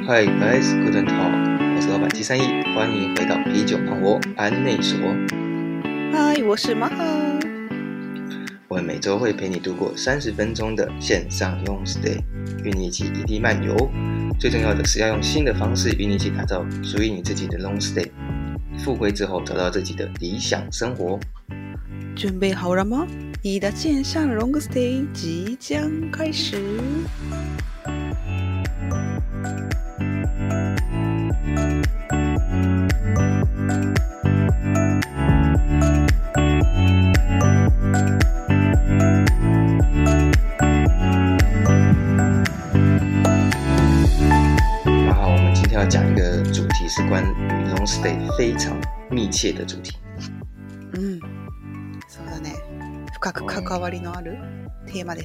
Hi guys, guten Tag， 我是老板七三一，歡迎回到啤酒胖活安內所。 嗨，我是馬哈。 我們每周會陪你度過30分鐘的線上 long stay， 與你一起異地漫遊。最重要的是要用新的方式與你一起打造屬於你自己的 long stay。復歸之後，找到自己的理想生活。 準備好了嗎？你的線上 long stay 即將開始。 要講一個主題是關於 long stay 非常密切的主題。 そうだね。深く関わりのあるテーマです。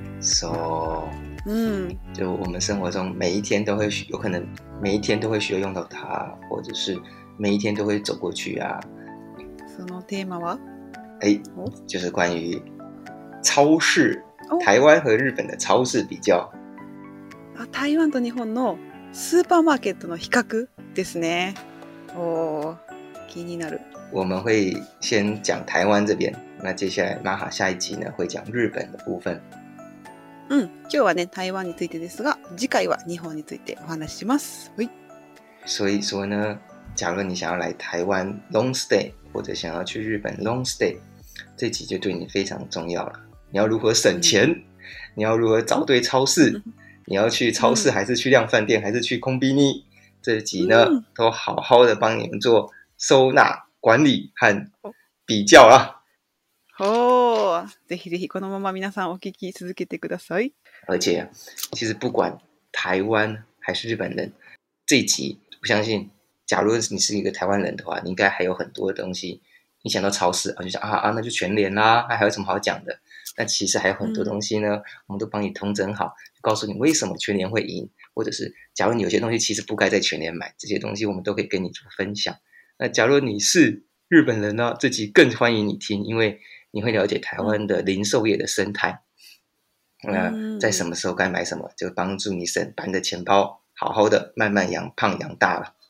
就我們生活中每一天都會有可能每一天都會需要用到它，或者是每一天都會走過去啊。 そのテーマは？ 就是關於超市，台灣和日本的超市比較。 台灣と日本のスーパーマーケットの比較ですね。気になる。 我們會先講台灣這邊，那接下來馬哈下一集呢會講日本的部分。 今日はね台灣についてですが、次回は日本についてお話しします。 所以說呢，假如你想要來台灣 long stay， 或者想要去日本 long stay， 這集就對你非常重要了。你要如何省錢？你要如何找對超市？你要去超市還是去量販店還是去コンビニ？這集呢都好好的幫你們做收納管理和比較啊。 ぜひぜひこのまま皆さんお聞き続けてください。 而且其實不管台灣還是日本人，這一集我相信假如你是一個台灣人的話，你應該還有很多的東西，你想到超市就想那就全聯啦，還有什麼好講的？但其實還有很多東西呢，我們都幫你統整好，告訴你為什麼全聯會贏，或者是假如你有些東西其實不該在全聯買，這些東西我們都可以跟你做分享。那假如你是日本人呢，這集更歡迎你聽，因為你會了解台灣的零售業的生態。在什麼時候該買什麼，就幫助你把你的錢包好好的慢慢養胖養大了。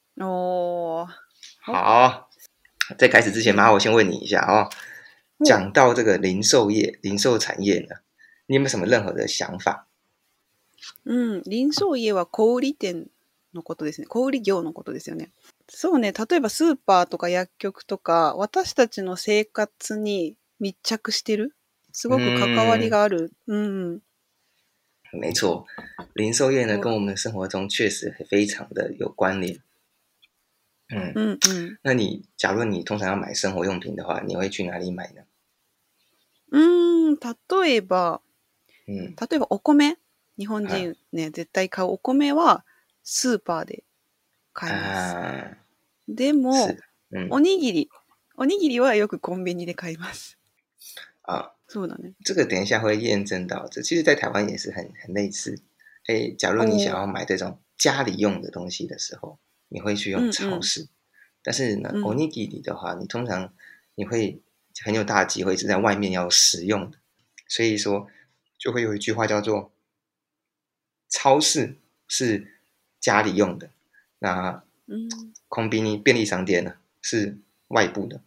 好，在開始之前，馬上我先問你一下講到這個零售業、零售產業呢，你有沒有什麼任何的想法？ 零售業は小売店のことですね。小売業のことですよね。そうね。例えばスーパーとか薬局とか、私たちの生活に密着してる。すごく関わりがある。 沒錯，零售業呢跟我們的生活中確實非常的有關聯。那假如你通常要買生活用品的話，你會去哪裡買呢？ 例えばお米、日本人ね、絶対買うお米はスーパーで買います。でも、おにぎりはよくコンビニで買います。そうだね。 這個等一下會驗證到，這其實在台灣也是很類似。假如你想要買這種家裡用的東西的時候，你會去用超市。但是呢，おにぎり的話，你通常你會很有大的機會是在外面要食用的，所以說就會有一句話叫做超市是家裡用的，那コンビニ便利商店呢是外部的。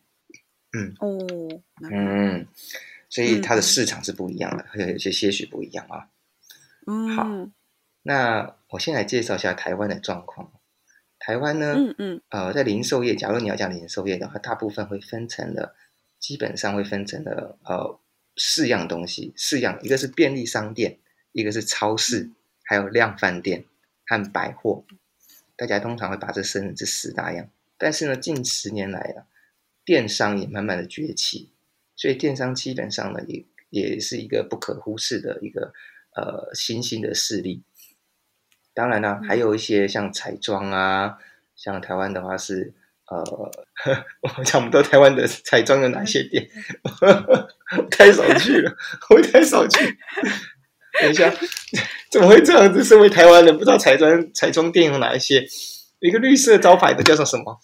所以它的市場是不一樣的，有些許不一樣啊。好，那我先來介紹一下台灣的狀況。台灣呢，在零售業，假如你要講零售業的話，大部分基本上會分成了4樣東西，4樣，一個是便利商店，一個是超市，還有量販店和百貨。大家通常會把這分成這4大樣。但是呢，近10年來電商也慢慢的崛起，所以電商基本上呢，也是一個不可忽視的一個新興的勢力。當然啦，還有一些像彩妝啊，像台灣的話是我講不到台灣的彩妝有哪些店，太少去了，我太少去。等一下，怎麼會這樣子？身為台灣人，不知道彩妝店有哪一些？一個綠色招牌的叫做什麼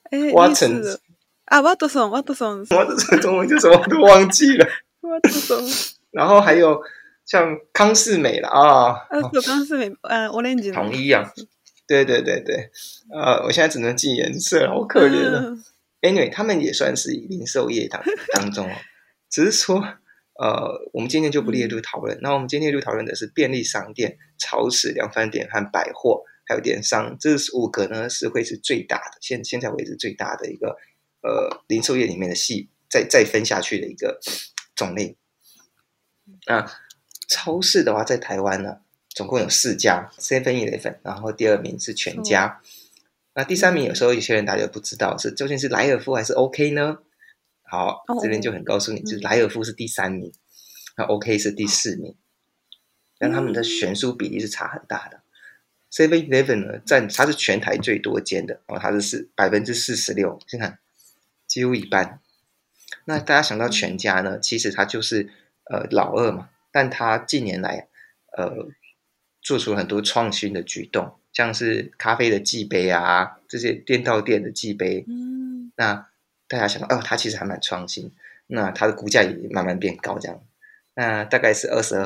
？Watsons。Watsons 中文叫什麼我都忘記了。然後還有像康是美啦康是美，オレンジの統一啊， 對對對對，我現在只能記顏色，好可憐了。Anyway， 他們也算是零售業當中哦，只是說我們今天就不列入討論。那我們今天列入討論的是便利商店、超市、量販店和百貨，還有電商，這5個呢是會是最大的，現在為止最大的一個零售業裡面的再分下去的一個種類。那超市的話，在台灣呢，總共有4家 ，7-11， 然後第2名是全家，那第3名有時候有些人大家不知道是究竟是萊爾富還是 OK 呢？好，這邊就很告訴你，就是萊爾富是第3名，那 OK 是第4名，但他們的懸殊比例是差很大的。7-11 呢，它是全台最多間的，它是46%，先看幾乎一半。那大家想到全家呢，其實它就是老二嘛，但它近年來做出了很多創新的舉動，像是咖啡的寄杯啊，這些店到店的寄杯，那大家想到它其實還蠻創新，那它的股價也慢慢變高，這樣，那大概是22%。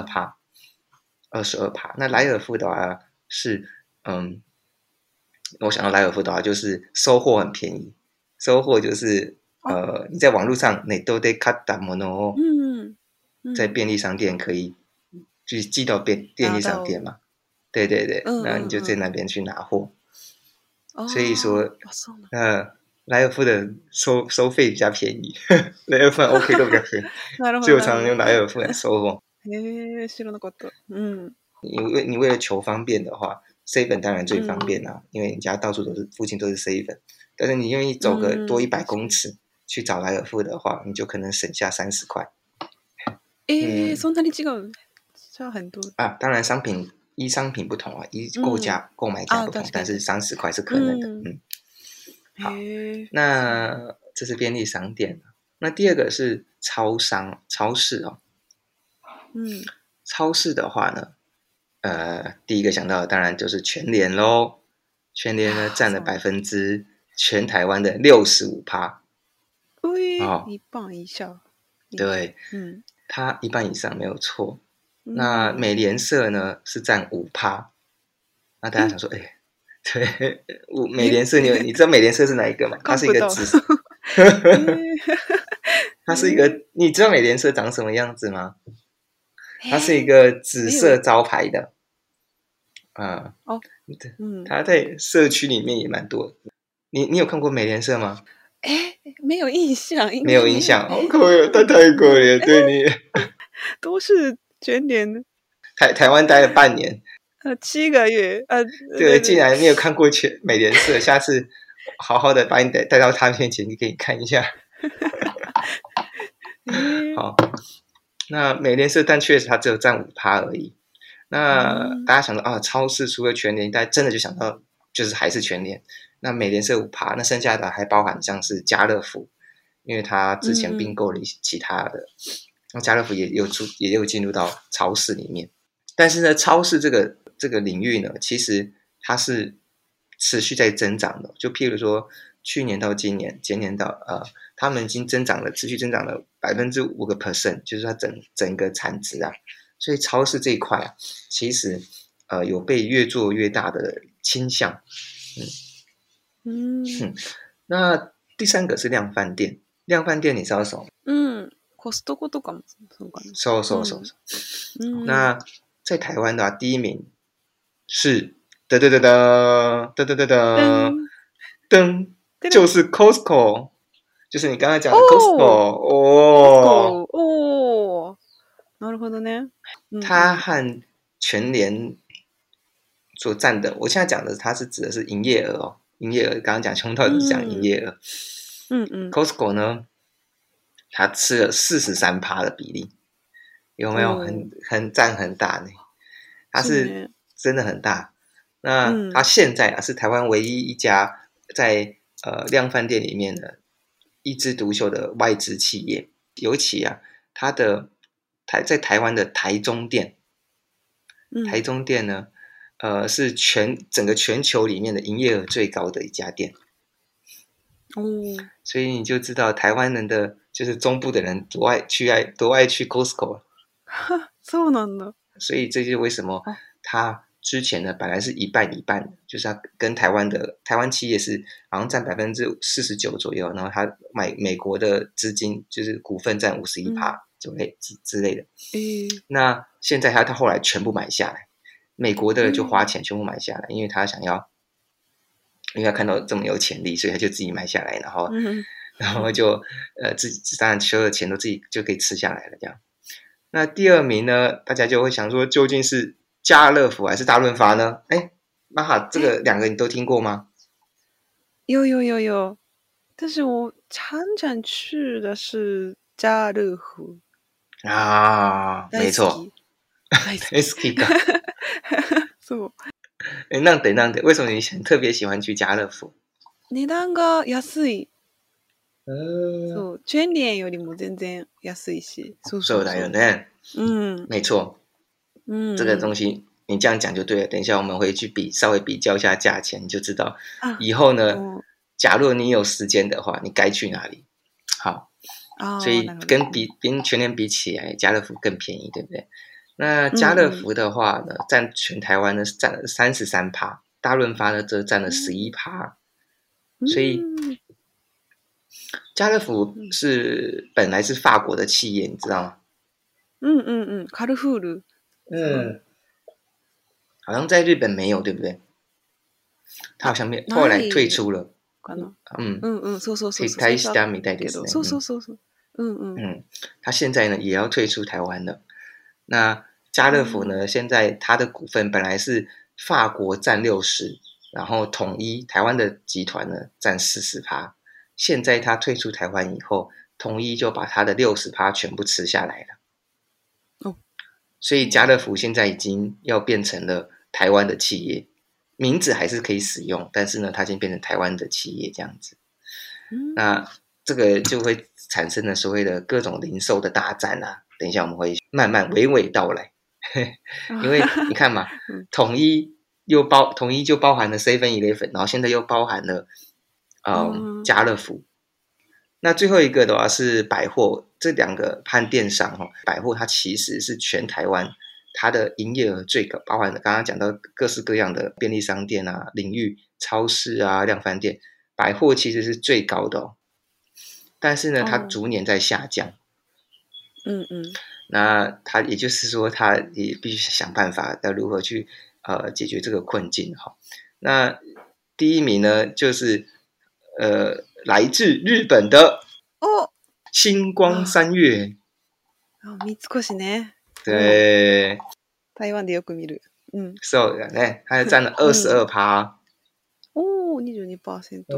那萊爾富的話是我想到萊爾富的話就是收貨很便宜，收貨就是你在網絡上ネットで買ったものを在便利商店可以去寄到便利商店嘛，對對對，那你就在那邊去拿貨，所以說萊爾富的收費比較便宜，萊爾富 OK 都比較便宜，所以我常常用萊爾富來收貨。 知らなかった。 你為了求方便的話，7當然最方便啦，因為你家到處都是，附近都是7。但是你願意走個多100公尺去找萊爾富的話，你就可能省下30塊。 そんなに違う？差很多啊！當然商品不同啊，購買價不同，但是30塊是可能的。好，那這是便利商店。那第2個是超市哦。超市的話呢，第一個想到的當然就是全聯咯。全聯呢佔了全台灣的65%。 一半以上。 對，它一半以上沒有錯。那美廉社呢是佔5%。那大家想說，對，美廉社，你知道美廉社是哪一個嗎？它是一個它是一個，你知道美廉社長什麼樣子嗎？它是一個紫色招牌的，它在社區裡面也蠻多。你有看過美廉社嗎？ 沒有印象， 沒有印象，好可憐，太可憐，對你都是全聯的。 台灣待了半年 ，7個月， 對，既然你有看過美廉社，下次好好的把你帶到他面前，你給你看一下。好，那美廉社，但確實它只有佔5%而已。那大家想到超市除了全聯，大家真的就想到就是還是全聯。那美廉社5%，那剩下的還包含像是家樂福，因為它之前併購了其他的，那家樂福也有進入到超市裡面。但是呢，超市這個領域呢，其實它是持續在增長的。就譬如說，去年到今年，前年到他們已經持續增長了5%，就是它整個產值啊。所以超市這一塊啊，其實有被越做越大的傾向。那第3個是量販店。量販店你知道什麼？ コストコとかもそうかな。 そう。那在台灣的話，第1名是噔，就是 Costco， 就是你剛才講的 Costco。 なるほどね。 它和全聯所佔的，我現在講的它是指的是營業額哦。營業額剛剛講，從頭到尾是講營業額。Costco 呢，它吃了43%的比例，有沒有很佔很大呢？它是真的很大。那它現在是台灣唯一一家在量販店裡面的一枝獨秀的外資企業，尤其它的在台灣的台中店，台中店呢，是整個全球裡面的營業額最高的一家店。所以你就知道台灣人的就是中部的人多愛去 Costco 了。 そうなんだ。 所以這就是為什麼它之前呢，本來是一半一半的，就是他跟台灣企業是好像占49%左右，然後他買美國的資金就是股份占51%之類的。那現在他後來全部買下來，美國的就花錢全部買下來，因為他想要，因為他看到這麼有潛力，所以他就自己買下來，然後就自己當然所有的錢都自己就可以吃下來了這樣。那第二名呢，大家就會想說，究竟是家樂福還是大潤發呢？瑪哈，這個兩個你都聽過嗎？ 有，但是我常常吃的是家樂福啊，沒錯，大好きか。 そう。 なんで為什麼你特別喜歡去家樂福？ 値段が安い。そう、チェーン店よりも全然安いし。 そうだよね。沒錯。這個東西你這樣講就對了。等一下我們會去稍微比較一下價錢，你就知道以後呢，假如你有時間的話，你該去哪裡。好，所以跟全聯比起來，家樂福更便宜，對不對？那家樂福的話呢，占全台灣呢是占了33%，大潤發呢則占了11%，所以家樂福本來是法國的企業，你知道嗎？ 卡ルフール。 好像在日本沒有，對不對？他好像後來退出了。 そう。 退したみたいですね。 そう。 他現在呢也要退出台灣了。那家樂福呢，現在他的股份本來是法國占60%，然後統一台灣的集團呢占40%。現在他退出台灣以後，統一就把他的60%全部吃下來了。所以家樂福現在已經要變成了台灣的企業，名字還是可以使用，但是呢，它已經變成台灣的企業這樣子。那這個就會產生了所謂的各種零售的大戰啊。等一下我們會慢慢娓娓道來，因為你看嘛，統一就包含了 7-Eleven， 然後現在又包含了家樂福。那最後一個的話是百貨，這兩個和電商百貨它其實是全台灣它的營業額最高，包含了剛剛講到各式各樣的便利商店啊、領域、超市啊、量販店，百貨其實是最高的。但是呢，它逐年在下降。那它也就是說，它也必須想辦法要如何去解決這個困境哈。那第一名呢，就是來自日本的新光三越。 三越ね。 對。 台灣でよく見る。 そうだね。它占了22%。 22%。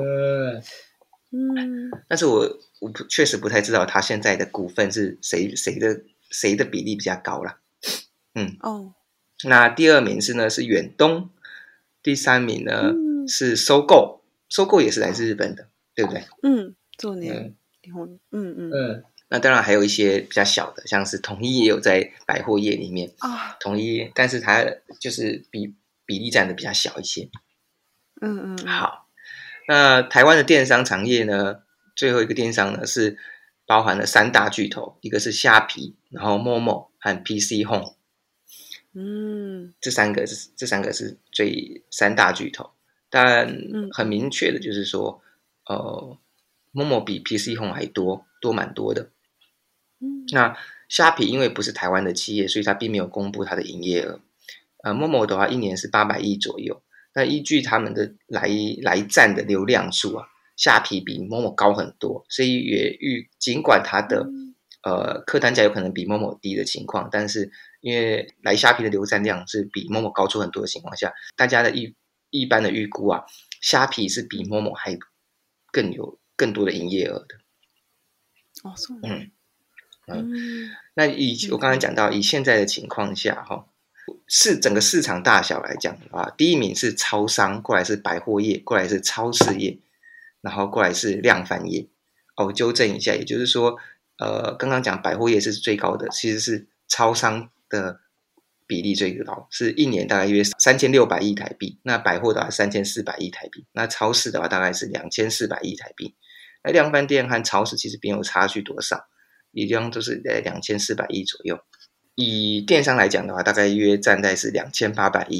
但是我確實不太知道他現在的股份是誰的比例比較高啦。那第二名是遠東，第三名呢是收購，收購也是來自日本的，對不對？ そうね。日本。 那當然還有一些比較小的，像是統一也有在百貨業裡面。統一，但是它就是比例占的比較小一些。好。那台灣的電商產業呢，最後一個電商呢是包含了3大巨頭，一個是蝦皮，然後 Momo 和 PC Home。這三個是3大巨頭，但很明確的就是說，Momo 比 PC Home 還多蠻多的。那蝦皮因為不是台灣的企業，所以它並沒有公布它的營業額。Momo 的話一年是800億左右。那依據他們的來站的流量數啊，蝦皮比 Momo 高很多，所以儘管它的客單價有可能比 Momo 低的情況，但是因為來蝦皮的流站量是比 Momo 高出很多的情況下，大家的一般的預估啊，蝦皮是比 Momo 還更多的營業額的。 そうなんだ。 那我剛才講到，以現在的情況下整個市場大小來講的話，第一名是超商，過來是百貨業，過來是超市業，然後過來是量販業。我糾正一下，也就是說，剛剛講百貨業是最高的，其實是超商的比例最高，是一年大概約3600億台幣。那百貨的話3400億台幣，那超市的話大概是2400億台幣。那量販店和超市其實沒有差距多少，一樣都是在2400億左右。以電商來講的話，大概約占在是2800億，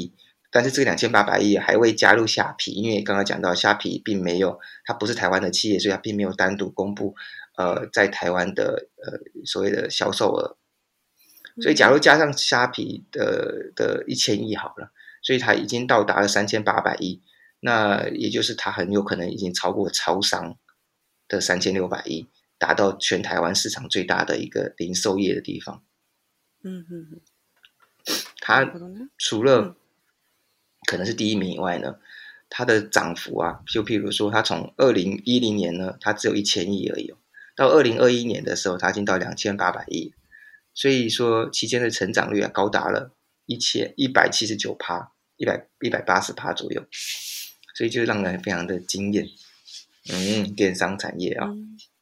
但是這個2800億還未加入蝦皮，因為剛剛講到蝦皮並沒有，它不是台灣的企業，所以它並沒有單獨公布在台灣的所謂的銷售額。所以假如加上蝦皮的1000億好了，所以它已經到達了3800億，那也就是它很有可能已經超過超商的3600億，達到全台灣市場最大的一個零售業的地方。它除了可能是第一名以外呢，它的漲幅啊，就譬如說，它從2010年呢，它只有1000億而已，到2021年的時候，它已經到2800億，所以說期間的成長率啊，高達了179%、180%左右，所以就讓人非常的驚豔。電商產業啊，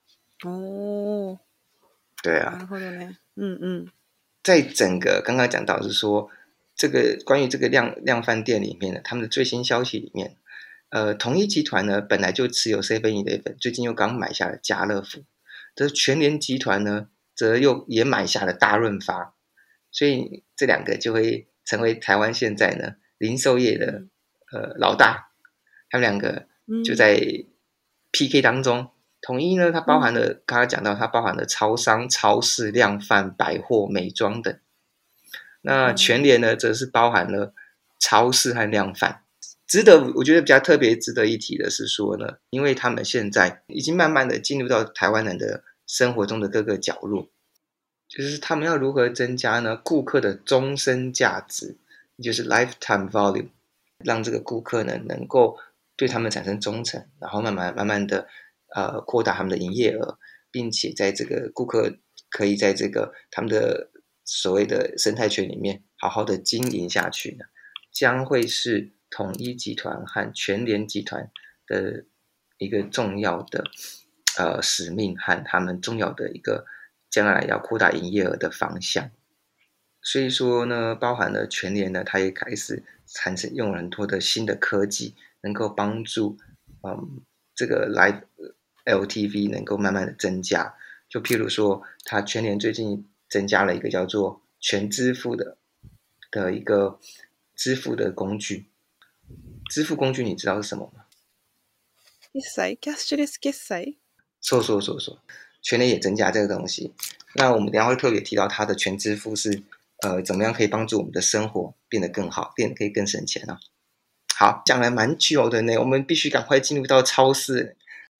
對啊，在整個剛剛講到是說，這個關於這個量販店裡面呢，他們的最新消息裡面，統一集團呢本來就持有 7-Eleven， 最近又剛買下了家樂福，這全聯集團呢則也買下了大潤發，所以這兩個就會成為台灣現在呢零售業的老大，他們兩個就在 PK 當中。統一呢，它包含了剛剛講到，它包含了超商、超市、量販、百貨、美妝等。那全聯呢，則是包含了超市和量販。我覺得比較特別值得一提的是說呢，因為他們現在已經慢慢的進入到台灣人的生活中的各個角落，就是他們要如何增加呢顧客的終身價值，也就是 lifetime value， 讓這個顧客呢能夠對他們產生忠誠，然後慢慢的擴大他們的營業額，並且在這個顧客可以在這個他們的所謂的生態圈裡面好好的經營下去呢，將會是統一集團和全聯集團的一個重要的使命和他們重要的一個將來要擴大營業額的方向。所以說呢，包含了全聯呢，它也開始產生用很多的新的科技，能夠幫助這個 Live LTV 能夠慢慢的增加。就譬如說，它全聯最近增加了一個叫做全支付的一個支付的工具。支付工具你知道是什麼嗎？ キャッシュレス決済。 そう。全聯也增加這個東西。那我們等一下會特別提到它的全支付是怎麼樣可以幫助我們的生活變得更好，變得可以更省錢啊。好，講了蠻久的呢，我們必須趕快進入到超市。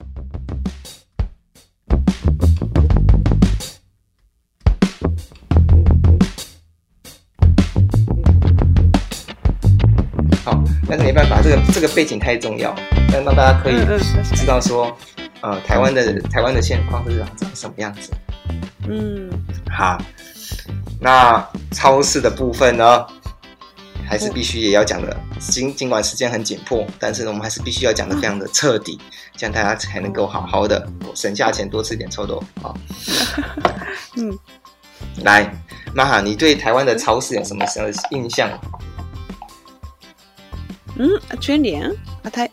好，但是沒辦法，這個背景太重要，但讓大家可以知道說，台灣的現況是長什麼樣子。好，那超市的部分呢，還是必須也要講的，儘管時間很緊迫，但是我們還是必須要講的非常的徹底，這樣大家才能夠好好的省下錢多吃點臭豆腐啊。來，瑪哈，你對台灣的超市有什麼印象？ 全聯台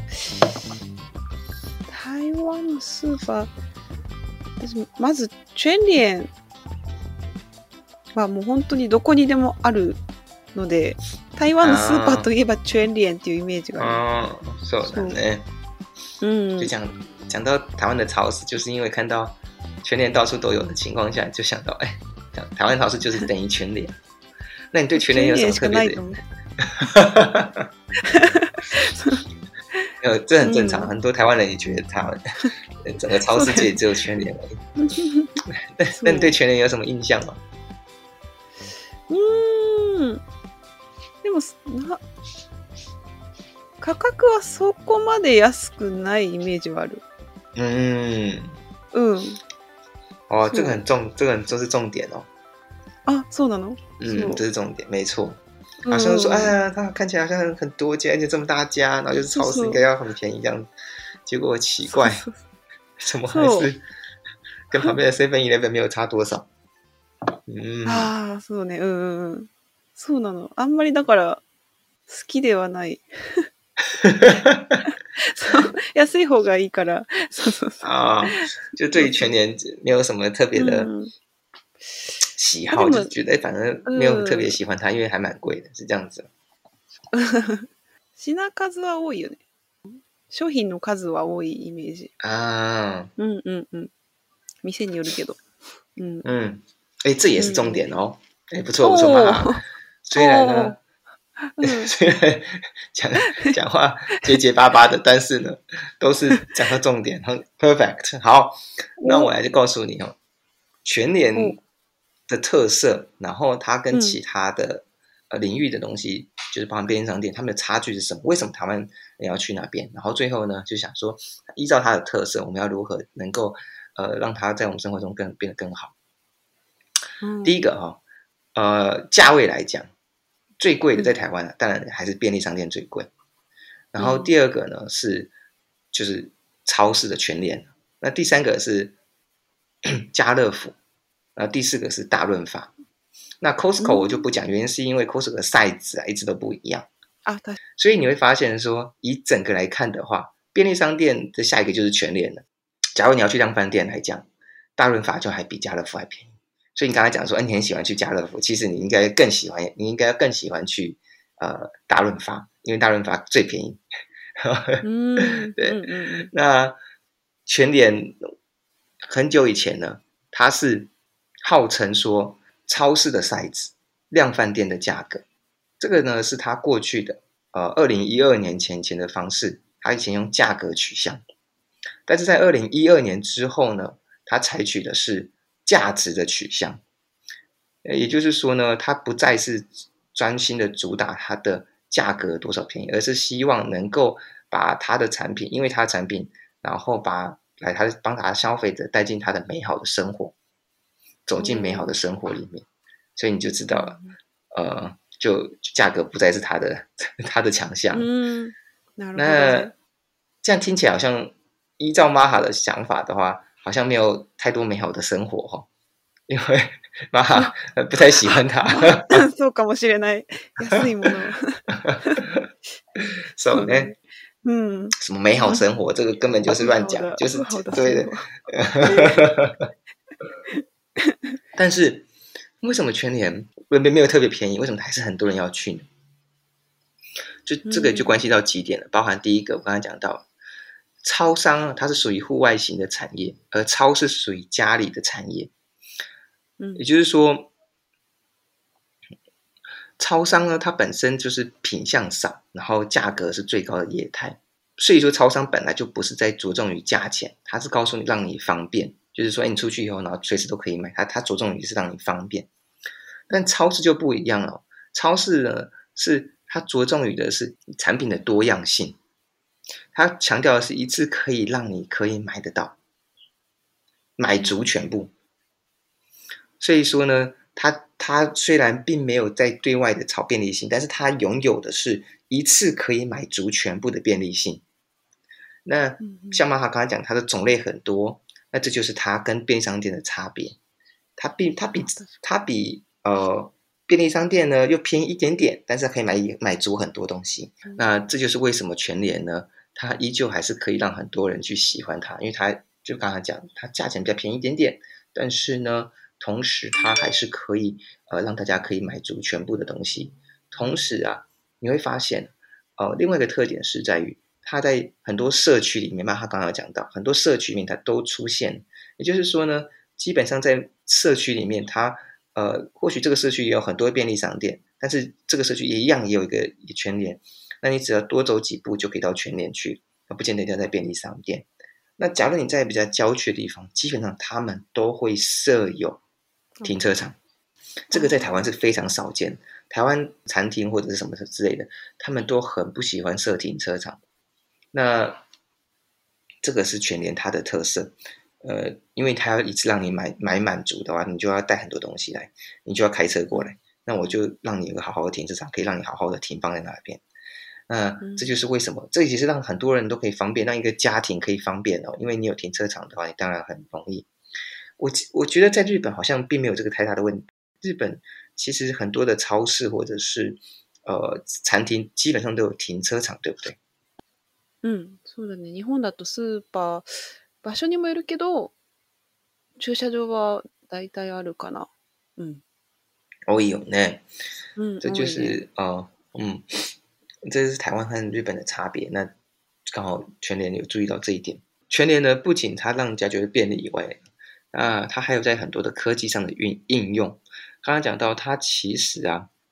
灣のスーパー、まず全聯はもう本当にどこにでもあるので、台湾のスーパーといえば全聯っていうイメージがある。 そうだね。就講到台灣的超市，就是因為看到全聯到處都有的情況下，就想到台灣超市就是等於全聯。那你對全聯有什麼特別的？這很正常，很多台灣人也覺得他們整個超市界只有全聯而已。那你對全聯有什麼印象嗎？ でも価格はそこまで安くないイメージはある。 這個很就是重點哦。 啊，そうなの？ 這是重點，沒錯。好像說，它看起來好像很多家，而且這麼大家，然後就是超市應該要很便宜這樣。結果奇怪，怎麼還是跟旁邊的 7-Eleven 沒有差多少？ そうね、そうなの。あんまりだから好きではない。安い方がいいから。 就對於全聯沒有什麼特別的喜好，就覺得反正沒有特別喜歡它，因為還蠻貴的，是這樣子。 品数は多いよね。商品の数は多いイメージ。うんうんうん。店によるけど。 嗯嗯，哎，这也是重点哦。哎，不错不错，妈哈。虽然呢，虽然講話結結巴巴的，但是呢，都是講到重點，很 perfect。好，那我來就告訴你哦，全聯的特色，然後它跟其他的領域的東西，就是包含便利商店，他們的差距是什麼？為什麼台灣人要去那邊？然後最後呢，就想說，依照它的特色，我們要如何能夠讓它在我們生活中變得更好？第一個價位來講，最貴的在台灣當然還是便利商店最貴。然後第二個呢就是超市的全聯，那第三個是家樂福，然後第四個是大潤發。那 Costco 我就不講，原因是因為 Costco 的 size 一直都不一樣對。 所以你會發現說，以整個來看的話，便利商店的下一個就是全聯了。假如你要去量販店來講，大潤發就還比家樂福還便宜。所以你剛才講說，你很喜歡去家樂福，其實你應該更喜歡去大潤發，因為大潤發最便宜。對，那全聯很久以前呢，它是號稱說超市的 size， 量販店的價格。這個呢是它過去的2012年前的方式，它以前用價格取向，但是在2012年之後呢，它採取的是價值的取向，也就是說呢，它不再是專心的主打它的價格多少便宜，而是希望能夠把它的產品，因為它的產品，然後幫他消費者帶進他的美好的生活，走進美好的生活裡面，所以你就知道了，就價格不再是它的強項。那這樣聽起來好像依照瑪哈的想法的話，好像沒有太多美好的生活哈，因為瑪哈不太喜歡它。 そうかもしれない。安いもの。 そうね。什麼美好生活，這個根本就是亂講，就是對的。但是為什麼全聯沒有特別便宜？為什麼還是很多人要去呢？就這個就關係到幾點了，包含第一個，我剛才講到，超商它是屬於戶外型的產業，而超市屬於家裡的產業。也就是說，超商呢，它本身就是品項少，然後價格是最高的業態。所以說，超商本來就不是在着重於價錢，它是告訴你讓你方便，就是說，你出去以後，然後隨時都可以買。它着重於是讓你方便。但超市就不一樣了，超市呢是它着重於的是產品的多樣性，它強調的是一次可以讓你可以買得到，買足全部。所以說呢，它雖然並沒有在對外的炒便利性，但是它擁有的是一次可以買足全部的便利性。那像瑪哈剛才講，它的種類很多，那這就是它跟便利商店的差別。它比便利商店呢又便宜一點點，但是可以買足很多東西。那這就是為什麼全聯呢，它依舊還是可以讓很多人去喜歡它，因為它就剛才講，它價錢比較便宜一點點，但是呢，同時它還是可以讓大家可以買足全部的東西。同時啊，你會發現另外一個特點是在於，它在很多社區裡面嘛，他剛剛有講到，很多社區裡面它都出現。也就是說呢，基本上在社區裡面，它或許這個社區也有很多便利商店，但是這個社區也有一個全聯。那你只要多走幾步就可以到全聯去，不見得一定要在便利商店。那假如你在比較郊區的地方，基本上他們都會設有停車場。這個在台灣是非常少見。台灣餐廳或者是什麼之類的，他們都很不喜歡設停車場。那這個是全聯它的特色，因為它要一次讓你買滿足的話，你就要帶很多東西來，你就要開車過來，那我就讓你有個好好的停車場，可以讓你好好的停放在那邊。那這就是為什麼，這其實讓很多人都可以方便，讓一個家庭可以方便哦，因為你有停車場的話，你當然很容易。我覺得在日本好像並沒有這個太大的問題，日本其實很多的超市或者是餐廳基本上都有停車場，對不對？ そうだね。日本だとスーパー、場所にもよるけど、駐車場は大体あるかな。 多いよね。這就是這是台灣和日本的差別。那剛好全聯有注意到這一點。全聯呢，不僅它讓人家覺得便利以外，它還有在很多的科技上的應用。剛剛講到，它其實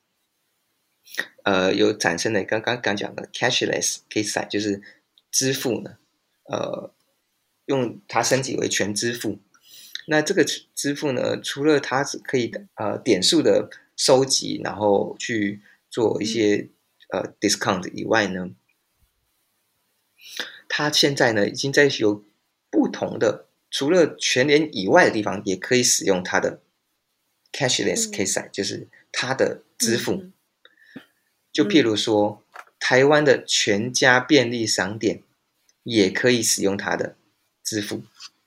有產生的剛講的 cashless 可以採，就是支付呢，用它升級為全支付。那這個支付呢，除了它是可以點數的收集，然後去做一些discount 以外呢，它現在呢已經在有不同的，除了全聯以外的地方，也可以使用它的 cashless 可以採，就是它的支付。就譬如說，台灣的全家便利商店也可以使用它的支付。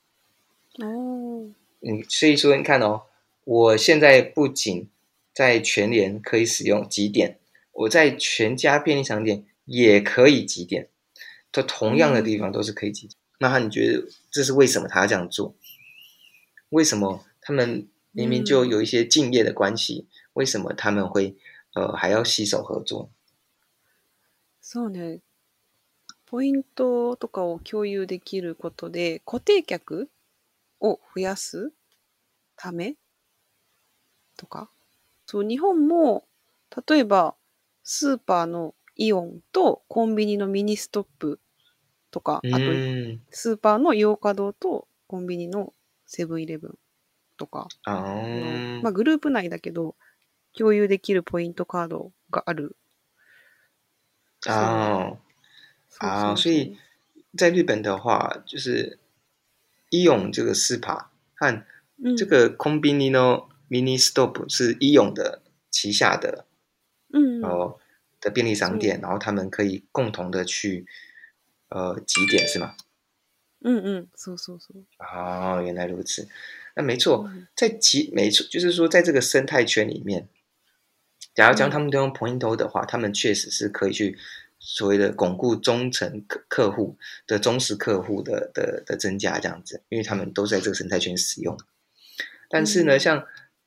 所以說你看哦，我現在不僅在全聯可以使用集點，我在全家便利商店也可以集點，在同樣的地方都是可以集點。那你覺得這是為什麼他要這樣做？為什麼他們明明就有一些競業的關係，為什麼他們會還要攜手合作？ そうね。ポイントとかを共有できることで固定客を増やすためとか、そう日本も例えばスーパーのイオンとコンビニのミニストップとか、あとスーパーのヨーカドーとコンビニのセブンイレブンとかの、グループ内だけど共有できるポイントカードがある。 所以在日本的話，就是イオン這個スーパー和這個コンビニのミニストップ是イオン的旗下的的便利商店，然後他們可以共同的去集點，是嗎？ そうそうそう。 原來如此。那沒錯，沒錯，就是說在這個生態圈裡面，假如將他們都用 Pointo 的話，他們確實是可以去所謂的鞏固忠誠客戶的忠實客戶的增加這樣子，因為他們都在這個生態圈使用。但是呢，像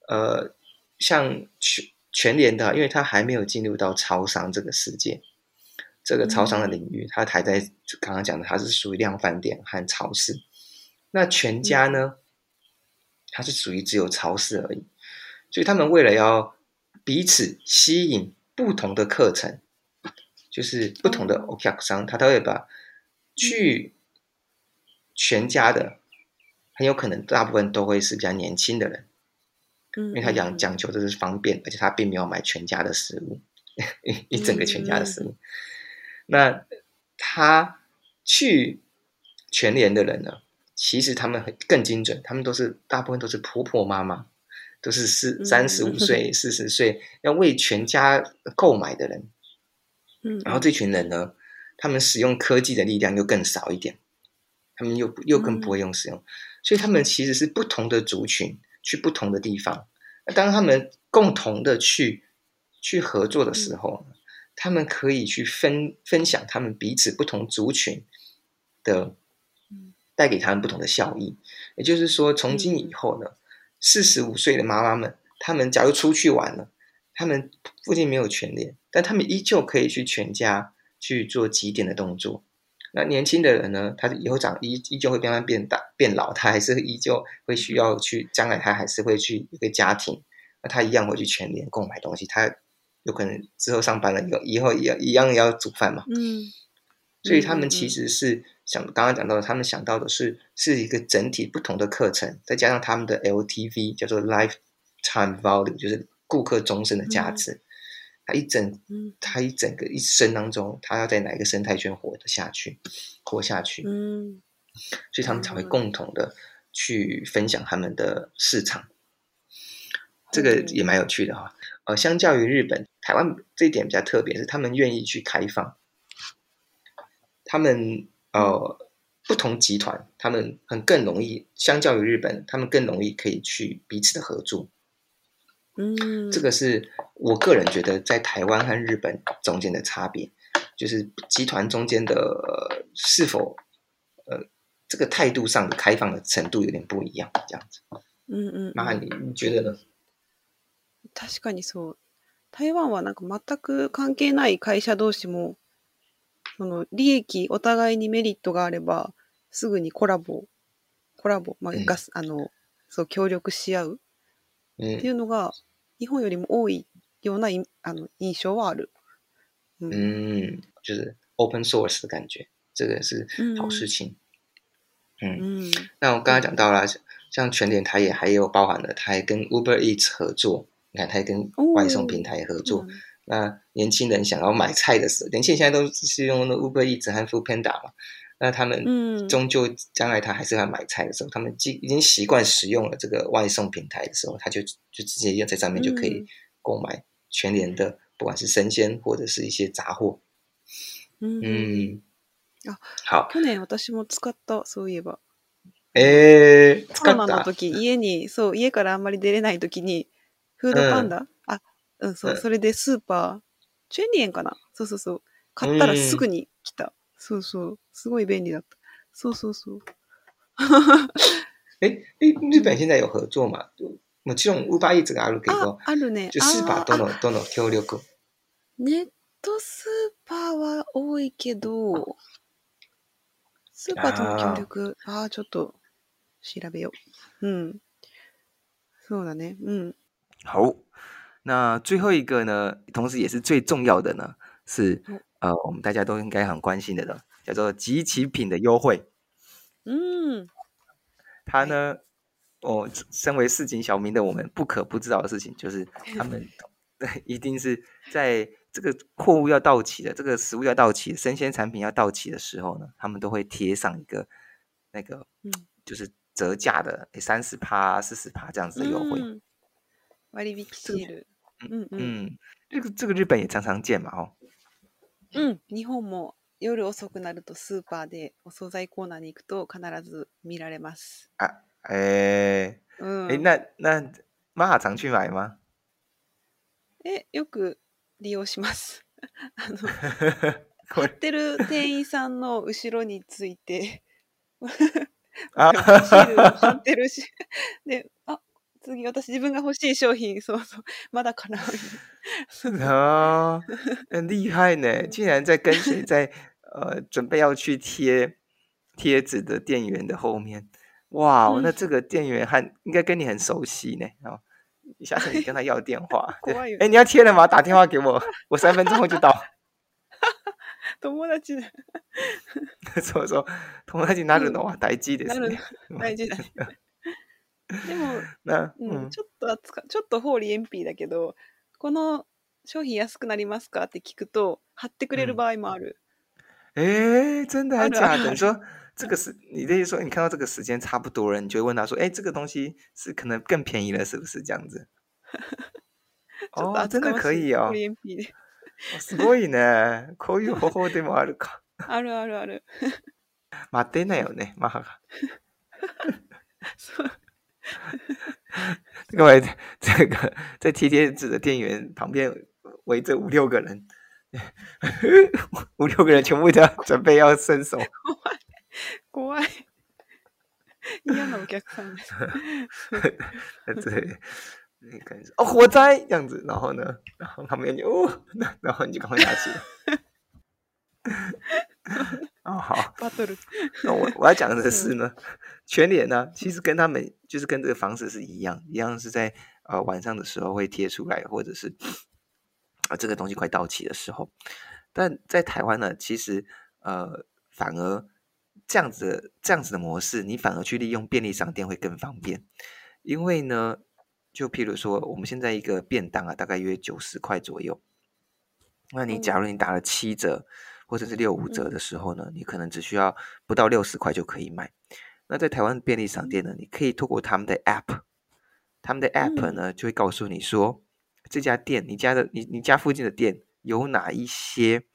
全聯的，因為它還沒有進入到超商這個世界，這個超商的領域，它還在剛剛講的，它是屬於量販店和超市。那全家呢，它是屬於只有超市而已，所以他們為了要彼此吸引不同的課程，就是不同的お客さん，他都會把去全家的，很有可能大部分都會是比較年輕的人，因為他講求的是方便，而且他並沒有買全家的食物，一整個全家的食物。那他去全聯的人呢，其實他們更精準，他們大部分都是婆婆媽媽，都是35歲、40歲要為全家購買的人。然後這群人呢，他們使用科技的力量又更少一點，他們又更不會用使用，所以他們其實是不同的族群去不同的地方。當他們共同的去合作的時候，他們可以去分享他們彼此不同族群的帶給他們不同的效益。也就是說，從今以後呢，45歲的媽媽們，他們假如出去玩了，他們附近沒有全聯，但他們依舊可以去全家去做集點的動作。那年輕的人呢，他以後依舊會慢慢變老，他還是依舊會需要去，將來他還是會去一個家庭，那他一樣會去全聯購買東西，他有可能之後上班了以後一樣要煮飯嘛。所以他們其實是剛剛講到的，他們想到的是一個整體不同的課程，再加上他們的 LTV 叫做 Lifetime Value， 就是顧客終身的價值。他一整個一生當中，他要在哪一個生態圈活下去，所以他們才會共同的去分享他們的市場。這個也蠻有趣的哈。相較於日本，台灣這一點比較特別，是他們願意去開放，他們不同集團，他們更容易，相較於日本，他們更容易可以去彼此的合作。這個是我個人覺得在台灣和日本中間的差別，就是集團中間的是否這個態度上的開放的程度有點不一樣，這樣子。那你覺得呢？ 確かにそう。 台湾はなんか全く関係ない会社同士も、その利益、お互いにメリットがあれば、すぐにコラボ、まあ、そう協力し合うっていうのが、日本よりも多いような印象はある。 就是open source 的感覺，這個是好事情。那我剛剛講到了，像全聯，它也還有包含了，它還跟 Uber Eats 合作，你看它還跟外送平台合作。那年輕人想要買菜的時候，年輕人現在都是用 Uber Eats 和 Foodpanda 嘛，那他們終究將來他還是要買菜的時候，他們已經習慣使用了這個外送平台的時候，他就直接在上面就可以購買全聯的，不管是生鮮或者是一些雜貨。 好。去年私も使った、そういえば。 使った。 コロナの時、家からあんまり出れない時に、フードパンダ、それでスーパー、チェンリエンかな、そう。買ったらすぐに来た。そう。すごい便利だった。そう。 日本現在有合作嘛？もちろん Uber Eats があるけど、 あるね。 就スーパーとの協力。 ネットスーパーは多いけど、スーパーとの協力、ちょっと調べよう。そうだね。 好，那最後一個呢，同時也是最重要的呢，是我們大家都應該很關心的呢，叫做即期品的優惠。它呢，身為市井小民的我們不可不知道的事情，就是他們一定是在這個貨物要到期的，這個食物要到期的，生鮮產品要到期的時候呢，他們都會貼上一個那個就是折價的30%、40%這樣子的優惠。 割引シール。 這個日本也常常見嘛。 日本も夜遅くなるとスーパーでお惣菜コーナーに行くと必ず見られます。 那マハ常去買嗎？ よく利用します。貼ってる店員さんの後ろについてシールを貼ってるし、で、次私自分が欲しい商品、まだかな。 很厲害呢，竟然在跟隨在準備要去貼紙的店員的後面。哇，那這個店員應該跟你很熟悉呢。下次你跟他要電話。你要貼了嗎？打電話給我，我3分鐘後就到。 友達だ。 そう友達になるのは大事ですね。 大事だね。でも、ちょっとホーリーエンピーだけど、この商品安くなりますかって聞くと貼ってくれる場合もある。 真的還假的？你說這個你的意思說，你看到這個時間差不多了，你就會問他說，這個東西是可能更便宜了，是不是這樣子？真的可以哦。すごいね。こういう方法でもあるか。 ある。 待ってなよね、マハが。各位，這個在貼紙的店員旁邊圍着5-6個人，5-6個人全部都要準備要伸手。 怖い。嫌なお客さんです。 對，那個火災這樣子，然後呢，然後旁邊就然後你就趕快拿起來。好。那我要講的是呢，全聯呢，其實跟他們就是跟這個方式是一樣是在晚上的時候會貼出來，或者是這個東西快到期的時候。但在台灣呢，其實反而這樣子的模式，你反而去利用便利商店會更方便，因為呢，就譬如說我們現在一個便當大概約90塊左右，那你假如你打了7折。或者是65折的時候呢，你可能只需要不到60塊就可以買。那在台灣便利商店呢，你可以透過他們的 App 呢就會告訴你說，這家店你家附近的店有哪一些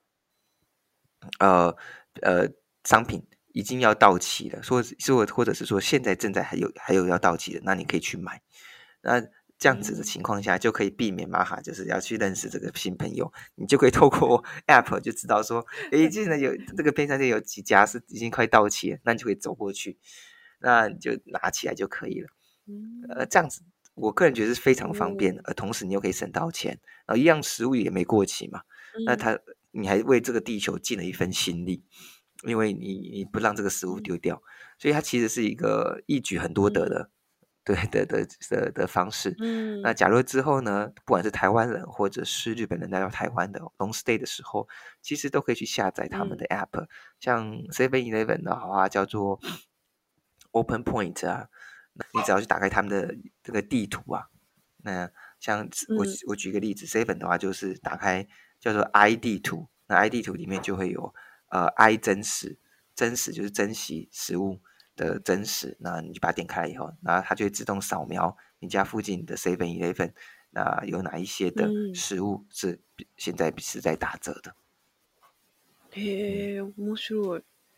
商品已經要到期了，或者是說現在正在還有要到期的，那你可以去買。那這樣子的情況下，就可以避免馬哈就是要去認識這個新朋友，你就可以透過 App 就知道說，現在有這個便利商店有幾家是已經快到期了，那你就可以走過去，那你就拿起來就可以了。這樣子我個人覺得是非常方便，而同時你又可以省到錢，然後一樣食物也沒過期嘛。那你還為這個地球盡了一份心力，因為你不讓這個食物丟掉，所以它其實是一個一舉很多得的。的方式。那假如之後呢，不管是台灣人或者是日本人來到台灣的 long stay 的時候，其實都可以去下載他們的 app，像 7-Eleven 的話叫做 Open Point 啊，你只要去打開他們的這個地圖啊，那像我舉一個例子，7的話就是打開叫做 i 地圖，那 i 地圖裡面就會有i 真實就是珍惜食物的真實，那你就把它點開來以後，然後它就會自動掃描你家附近的 7-Eleven， 那有哪一些的食物是現在是在打折的。 へえ、面白い。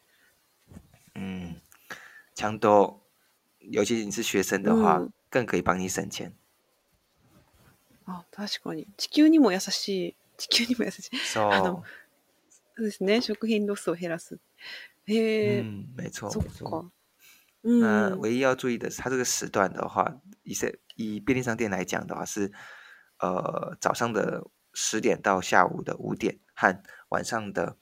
ちゃんと尤其你是學生的話，更可以幫你省錢。 あ、確かに地球にも優しい。そうですね、食品ロスを減らす。へえ、 沒錯。 そっか。 那唯一要注意的是，它這個時段的話，以便利商店來講的話是，早上的10點到下午的5點，和晚上的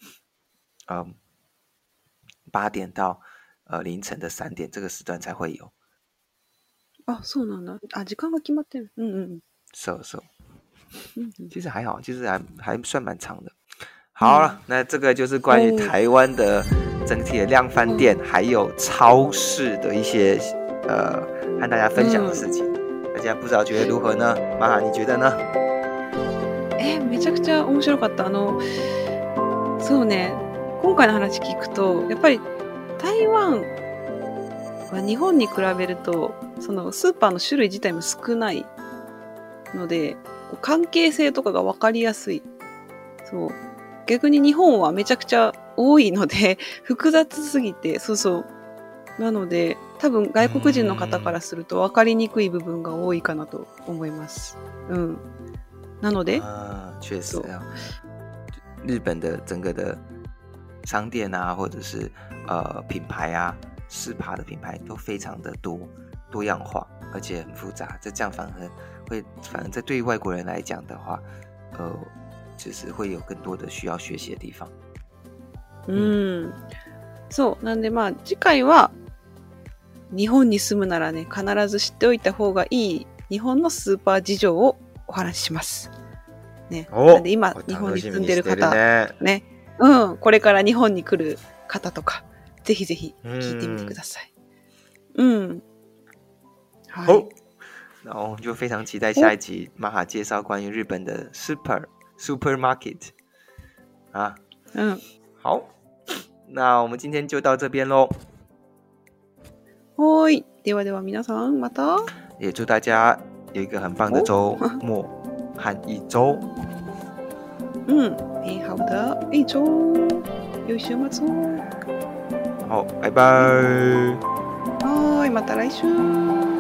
8點到凌晨的3點，這個時段才會有。 啊，そうなんだ。啊，時間が決まってる。 そう。其實還好，其實還算蠻長的。好了，那這個就是關於台灣的整體的量販店還有超市的一些和大家分享的事情。大家不知道覺得如何呢？マハ、你覺得呢？ めちゃくちゃ面白かった。そうね、今回の話聞くとやっぱり台湾は日本に比べるとそのスーパーの種類自体も少ないので関係性とかが分かりやすい。そう。逆に日本はめちゃくちゃ多いので複雑すぎて、なので多分外国人の方からすると分かりにくい部分が多いかなと思います。なので確實日本的整個的商店啊，或者是品牌啊，スーパー的品牌都非常的多樣化，而且很複雜。這樣反而在對於外國人來講的話，就是會有更多的需要學習的地方。 そうなんで次回は日本に住むならね、必ず知っておいた方がいい日本のスーパー事情をお話しします。ね。なんで今日本に住んでる方ね、これから日本に來る方とかぜひぜひ聞いてみてください。 好，那我就非常期待下一集マハ介紹關於日本的supermarket 啊。好，那我們今天就到這邊嘍。 はい、ではでは皆さんまた。 也祝大家有一個很棒的週末和一週。 美好的一週，良い週末を。 好，拜拜。 はい、また來週。